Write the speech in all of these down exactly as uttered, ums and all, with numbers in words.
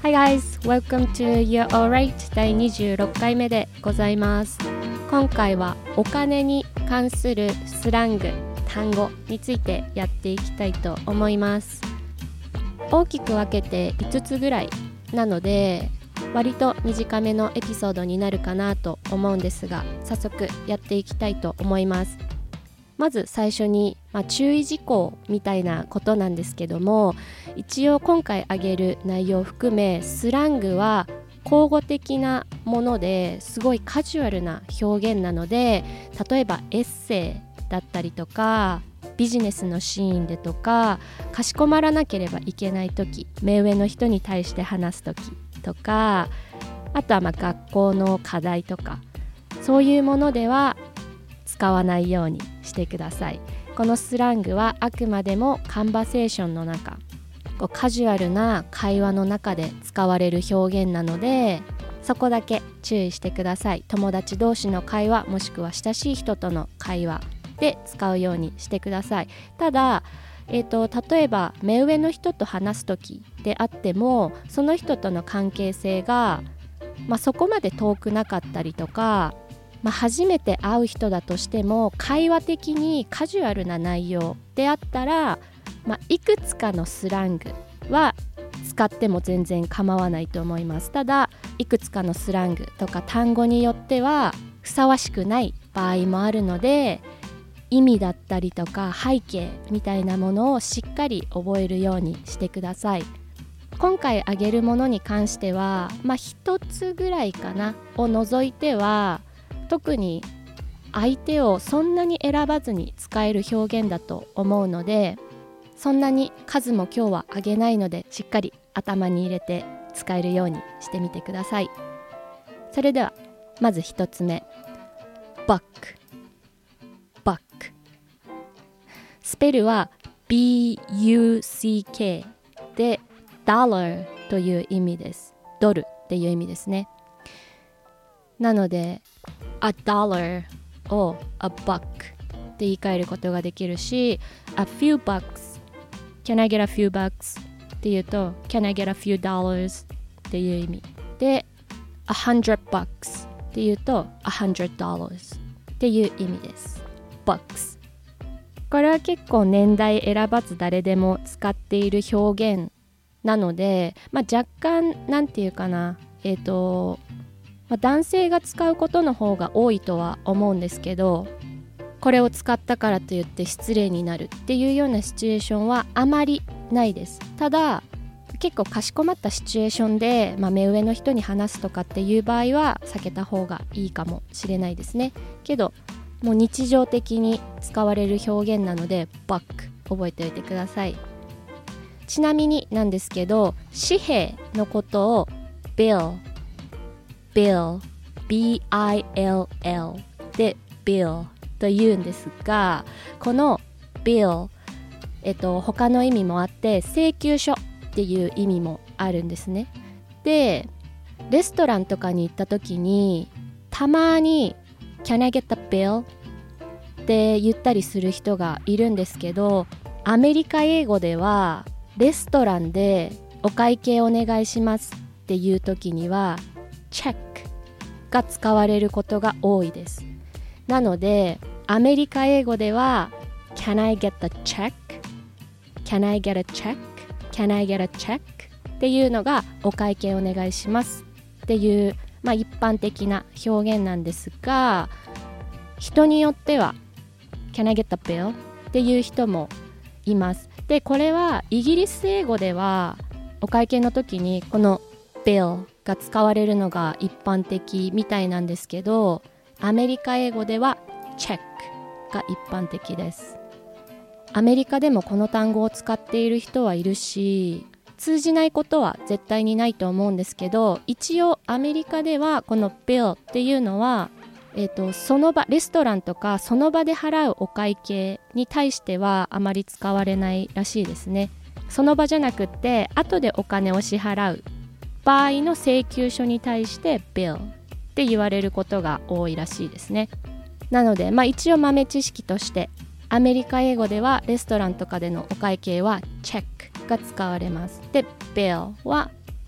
Hi guys, welcome to You're Alright だいにじゅうろっかいめでございます。今回はお金に関するスラング、単語についてやっていきたいと思います。大きく分けていつつぐらいなので、割と短めのエピソードになるかなと思うんですが、早速やっていきたいと思います。まず最初に、まあ、注意事項みたいなことなんですけども、一応今回挙げる内容を含めスラングは口語的なものですごいカジュアルな表現なので、例えばエッセイだったりとかビジネスのシーンでとか、かしこまらなければいけない時、目上の人に対して話す時とか、あとはまあ学校の課題とか、そういうものでは使わないようにしてください。このスラングはあくまでもカンバセーションの中、こうカジュアルな会話の中で使われる表現なので、そこだけ注意してください。友達同士の会話、もしくは親しい人との会話で使うようにしてください。ただ、えーと、例えば目上の人と話す時であっても、その人との関係性が、まあ、そこまで遠くなかったりとか、まあ、初めて会う人だとしても会話的にカジュアルな内容であったら、まあ、いくつかのスラングは使っても全然構わないと思います。ただ、いくつかのスラングとか単語によってはふさわしくない場合もあるので、意味だったりとか背景みたいなものをしっかり覚えるようにしてください。今回挙げるものに関しては、まあ一つぐらいかなを除いては、特に相手をそんなに選ばずに使える表現だと思うので、そんなに数も今日は挙げないので、しっかり頭に入れて使えるようにしてみてください。それではまず一つ目、バック。バック。スペルは ビーユーシーケー で dollar という意味です。ドルっていう意味ですね。なのでA dollar を a buck って言い換えることができるし、 a few bucks Can I get a few bucks って言うと Can I get a few dollars っていう意味で、 a hundred bucks って言うと a hundred dollars っていう意味です。 bucks、 これは結構年代選ばず誰でも使っている表現なので、まあ、若干なんていうかな、えっとまあ、男性が使うことの方が多いとは思うんですけど、これを使ったからといって失礼になるっていうようなシチュエーションはあまりないです。ただ結構かしこまったシチュエーションで、まあ、目上の人に話すとかっていう場合は避けた方がいいかもしれないですね。けどもう日常的に使われる表現なので、バック覚えておいてください。ちなみになんですけど、紙幣のことを bill billビーアイエルエル で bill と言うんですが、この bill、えっと、他の意味もあって、請求書っていう意味もあるんですね。で、レストランとかに行った時にたまに Can I get the bill? って言ったりする人がいるんですけど、アメリカ英語ではレストランでお会計お願いしますっていう時にはチェックが使われることが多いです。なのでアメリカ英語では Can I get the check? Can I get a check? Can I get a check? っていうのがお会計お願いしますっていう、まあ、一般的な表現なんですが、人によっては Can I get the bill? っていう人もいます。で、これはイギリス英語ではお会計の時にこの billが使われるのが一般的みたいなんですけど、アメリカ英語ではチェックが一般的です。アメリカでもこの単語を使っている人はいるし、通じないことは絶対にないと思うんですけど、一応アメリカではこの bill っていうのは、えーと、その場、レストランとかその場で払うお会計に対してはあまり使われないらしいですね。その場じゃなくって後でお金を支払う場合の請求書に対して bill って言われることが多いらしいですね。なので、まあ、一応豆知識としてアメリカ英語ではレストランとかでのお会計はチェックが使われます。で、bill は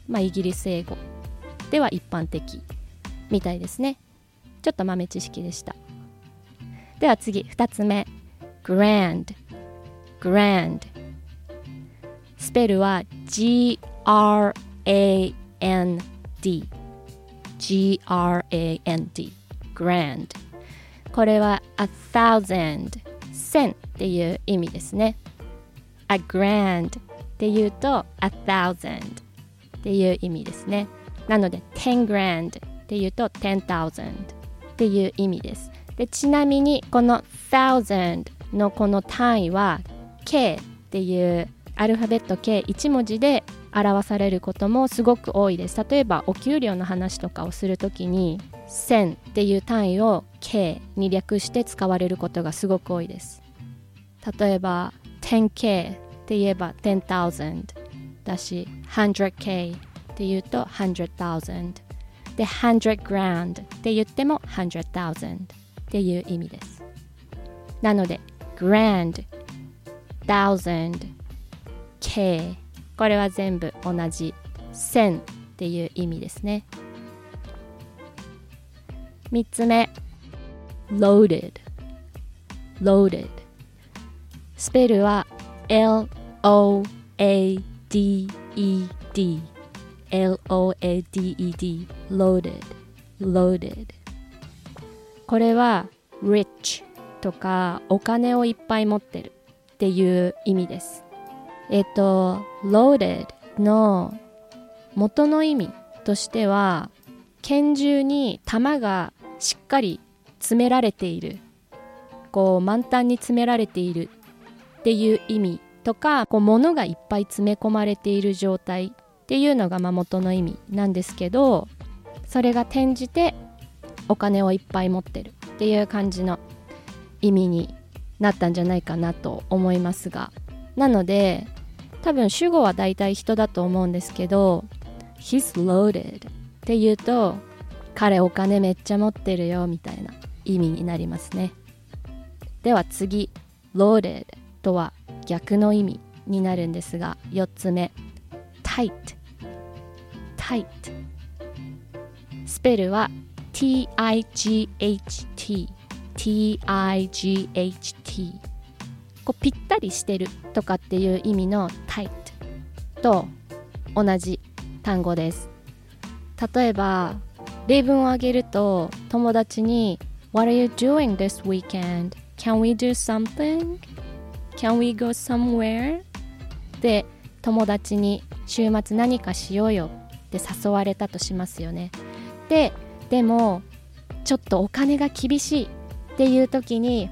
まあ、イギリス英語では一般的みたいですね。ちょっと豆知識でした。では次ふたつめ grand grand スペルは G R A N D G R A N D grand これは a thousand 千っていう意味ですね。 a grand っていうと a thousand っていう意味ですね。なので ten grand っていうと ten thousand っていう意味です。でちなみにこの thousand のこの単位は K っていうアルファベット ケーいち 文字で表されることもすごく多いです。例えばお給料の話とかをするときに千っていう単位を K に略して使われることがすごく多いです。例えば テンケー って言えば ten thousand だし one hundredケー って言うと one hundred thousand で one hundred grand って言っても one hundred thousand っていう意味です。なので grand thousand K これは全部同じ千っていう意味ですね。みっつめ loaded loaded スペルは L O A D E D L O A D E D loaded loaded これは rich とかお金をいっぱい持ってるっていう意味です。えっと loaded の元の意味としては拳銃に弾がしっかり詰められている、こう満タンに詰められているっていう意味とか、こう物がいっぱい詰め込まれている状態っていうのがまあ元の意味なんですけど、それが転じてお金をいっぱい持ってるっていう感じの意味になったんじゃないかなと思いますが、なので多分主語はだいたい人だと思うんですけど He's loaded って言うと彼お金めっちゃ持ってるよみたいな意味になりますね。では次 loaded とは逆の意味になるんですが、よっつめ tight tight スペルは T I G H T T I G H T こうぴったりしてるとかっていう意味の tight と同じ単語です。例えば例文を挙げると友達に What are you doing this weekend? Can we do something? Can we go somewhere? で友達に週末何かしようよって誘われたとしますよね。ででもちょっとお金が厳しいっていう時に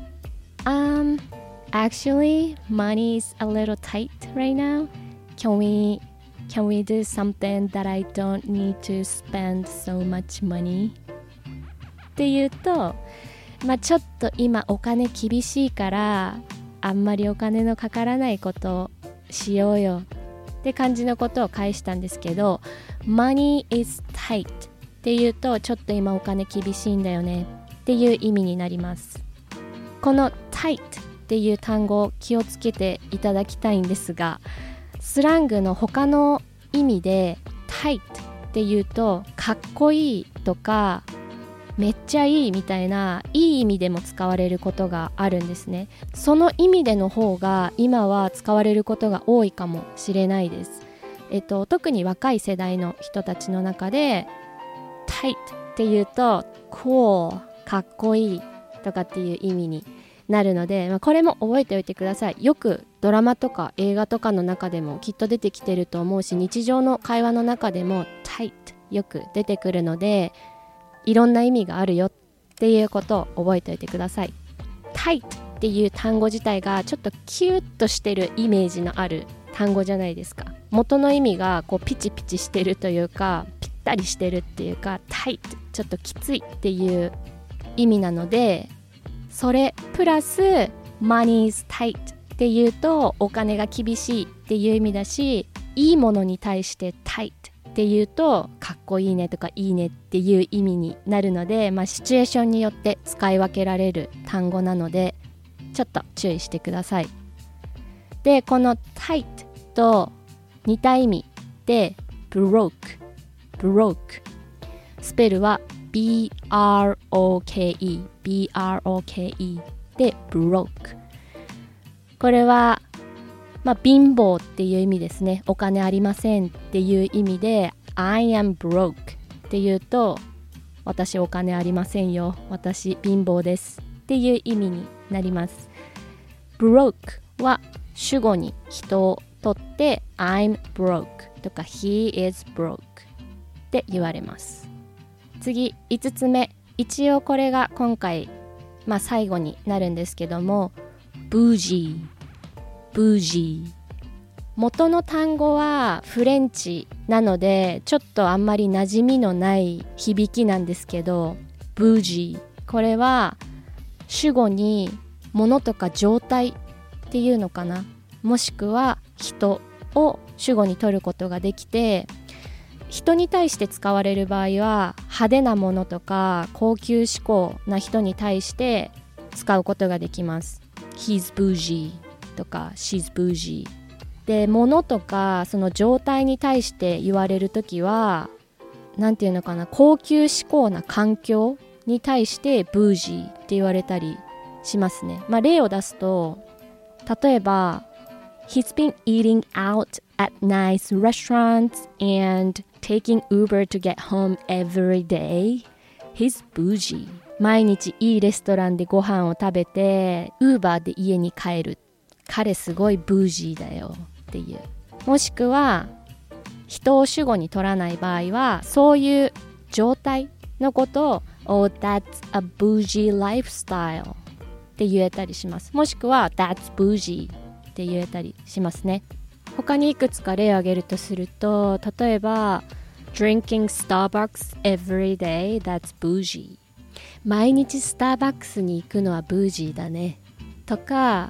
Um, actually, money is a little tight right now. Can we, can we do something that I don't need to spend so much money? って言うと、まあちょっと今お金厳しいからあんまりお金のかからないことをしようよって感じのことを返したんですけど、money is tight って言うとちょっと今お金厳しいんだよねっていう意味になります。この tight っていう単語を気をつけていただきたいんですが、スラングの他の意味で tight っていうとかっこいいとかめっちゃいいみたいないい意味でも使われることがあるんですね。その意味での方が今は使われることが多いかもしれないです。えっと、特に若い世代の人たちの中で tight っていうと cool かっこいいとかっていう意味になるので、まあ、これも覚えておいてください。よくドラマとか映画とかの中でもきっと出てきてると思うし、日常の会話の中でも tight よく出てくるので、いろんな意味があるよっていうことを覚えておいてください。tight っていう単語自体がちょっとキュッとしてるイメージのある単語じゃないですか。元の意味がこうピチピチしてるというか、ぴったりしてるっていうか、tight ちょっときついっていう意味なので、それプラス money is tight っていうとお金が厳しいっていう意味だし、いいものに対して tight っていうとかっこいいねとかいいねっていう意味になるので、まあ、シチュエーションによって使い分けられる単語なのでちょっと注意してください。でこの tight と似た意味で broke broke スペルは B R O K E B R O K E で broke これはまあ貧乏っていう意味ですね。お金ありませんっていう意味で I am broke っていうと私お金ありませんよ、私貧乏ですっていう意味になります。 broke は主語に人を取って I'm broke とか He is broke って言われます。次いつつめ、一応これが今回、まあ、最後になるんですけども bougie bougie 元の単語はフレンチなのでちょっとあんまり馴染みのない響きなんですけど bougie これは主語に物とか状態っていうのかな、もしくは人を主語に取ることができて、人に対して使われる場合は派手なものとか高級志向な人に対して使うことができます。 He's bougie とか She's bougie で、物とかその状態に対して言われるときはなんていうのかな、高級志向な環境に対してブージーって言われたりしますね。まあ例を出すと、例えば He's been eating out at nice restaurants and taking Uber to get home every day. He's bougie. 毎日いいレストランでご飯を食べて Uber で家に帰る。彼すごいブージーだよっていう。もしくは人を主語に取らない場合はそういう状態のことを Oh, that's a bougie lifestyle って言えたりします。もしくは That's bougie って言えたりしますね。他にいくつか例を挙げるとすると、例えば Drinking Starbucks every day, that's bougie 毎日スターバックスに行くのはブージーだねとか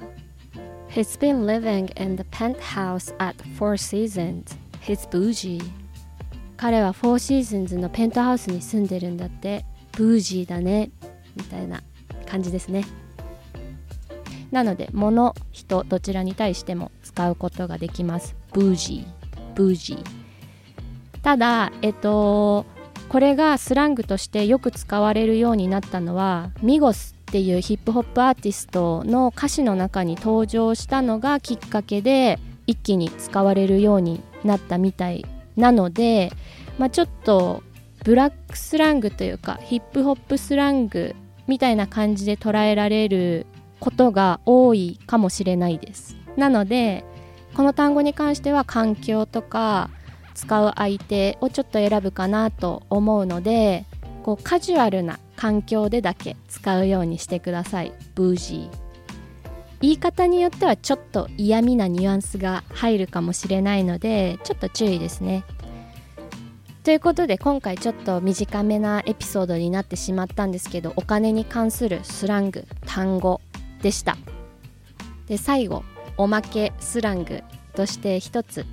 He's been living in the penthouse at Four Seasons, he's bougie 彼はフォーシーズンズのペントハウスに住んでるんだって、ブージーだねみたいな感じですね。なので物、人どちらに対しても使うことができます。ブージー、ブージー。ただえっとこれがスラングとしてよく使われるようになったのはミゴスっていうヒップホップアーティストの歌詞の中に登場したのがきっかけで一気に使われるようになったみたいなので、まあ、ちょっとブラックスラングというかヒップホップスラングみたいな感じで捉えられることが多いかもしれないです。なのでこの単語に関しては環境とか使う相手をちょっと選ぶかなと思うので、こうカジュアルな環境でだけ使うようにしてください。ブージー。言い方によってはちょっと嫌味なニュアンスが入るかもしれないのでちょっと注意ですね。ということで今回ちょっと短めなエピソードになってしまったんですけど、お金に関するスラング、単語でした。で最後おまけスラングとして一つ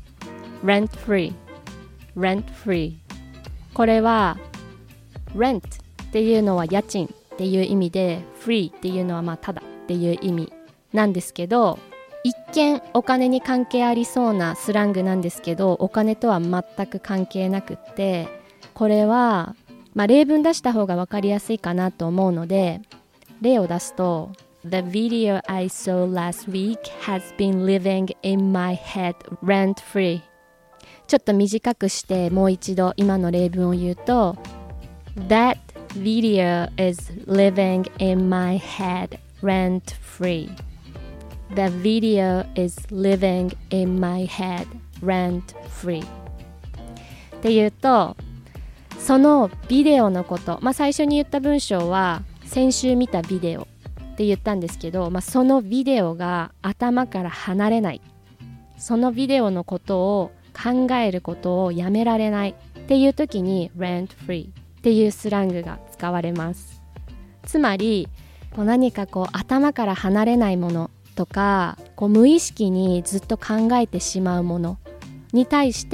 rent free rent free これは rent っていうのは家賃っていう意味で free っていうのはまあただっていう意味なんですけど、一見お金に関係ありそうなスラングなんですけどお金とは全く関係なくって、これはまあ例文出した方が分かりやすいかなと思うので例を出すとThe video I saw last week has been living in my head rent free ちょっと短くしてもう一度今の例文を言うと That video is living in my head rent free The video is living in my head rent free っていうとそのビデオのこと、まあ、最初に言った文章は先週見たビデオって言ったんですけど、まあ、そのビデオが頭から離れない、そのビデオのことを考えることをやめられないっていう時に rent free っていうスラングが使われます。つまりこう何かこう頭から離れないものとかこう無意識にずっと考えてしまうものに対して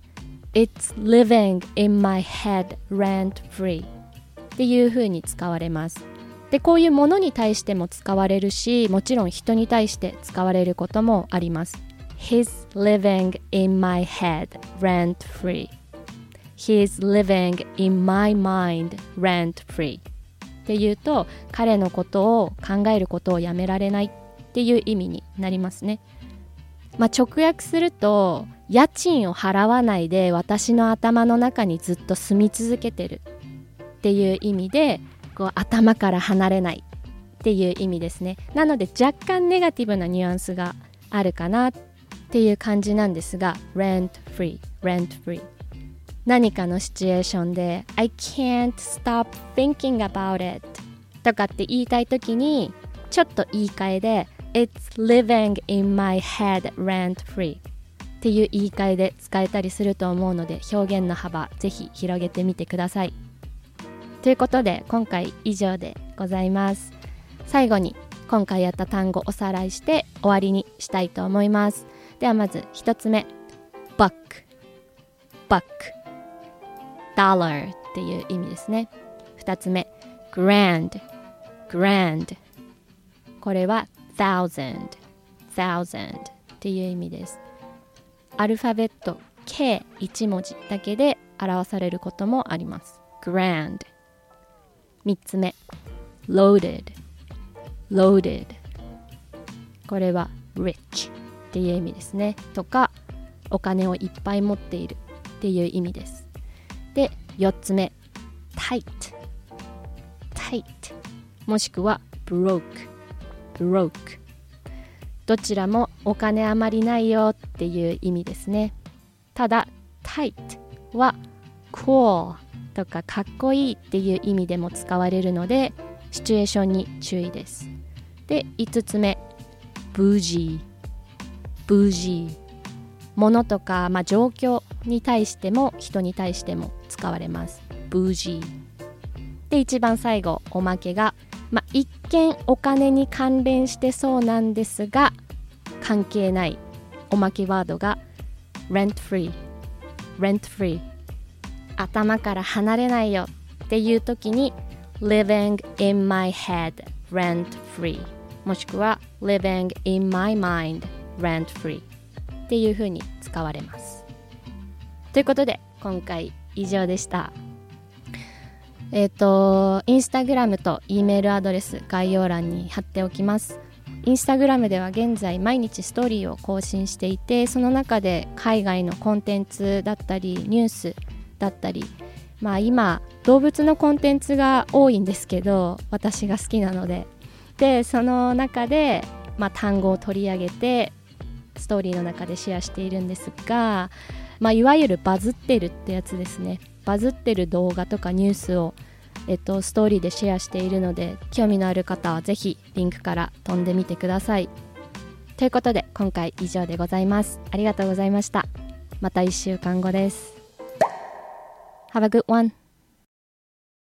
It's living in my head rent free っていう風に使われます。でこういうものに対しても使われるし、もちろん人に対して使われることもあります。 He's living in my head rent free.He's living in my mind rent free っていうと、彼のことを考えることをやめられないっていう意味になりますね。まあ、直訳すると、家賃を払わないで私の頭の中にずっと住み続けてるっていう意味で、こう頭から離れないっていう意味ですね。なので若干ネガティブなニュアンスがあるかなっていう感じなんですが、 rent free rent free、何かのシチュエーションで I can't stop thinking about it とかって言いたいときに、ちょっと言い換えで It's living in my head rent free っていう言い換えで使えたりすると思うので、表現の幅ぜひ広げてみてください。ということで今回以上でございます。最後に今回やった単語おさらいして終わりにしたいと思います。ではまず一つ目、 buck buck dollar っていう意味ですね。二つ目、 grand grand これは thousand thousand っていう意味です。アルファベット計いち文字だけで表されることもあります。 grand。 三つ目、 loaded loaded これは rich っていう意味ですね。とかお金をいっぱい持っているっていう意味です。で、よっつめ、 tight tight もしくは broke broke どちらもお金あまりないよっていう意味ですね。ただ tight は cool とかかっこいいっていう意味でも使われるので、シチュエーションに注意です。で、いつつめ、 bougie bougie 物とか、まあ、状況に対しても人に対しても使われます。 bougie で、一番最後、おまけが、まあ、一見お金に関連してそうなんですが関係ないおまけワードが rent free rent free 頭から離れないよっていう時に living in my head rent free もしくは living in my mind rent free っていう風に使われます。ということで今回以上でした。えっと、インスタグラムと E メールアドレス概要欄に貼っておきます。インスタグラムでは現在毎日ストーリーを更新していて、その中で海外のコンテンツだったりニュースだったり、まあ今動物のコンテンツが多いんですけど、私が好きなので、でその中で、まあ、単語を取り上げてストーリーの中でシェアしているんですが、まあ、いわゆるバズってるってやつですね。バズってる動画とかニュースを、えっと、ストーリーでシェアしているので、興味のある方はぜひリンクから飛んでみてください。ということで今回以上でございます。ありがとうございました。またいっしゅうかんごです。Have a good one.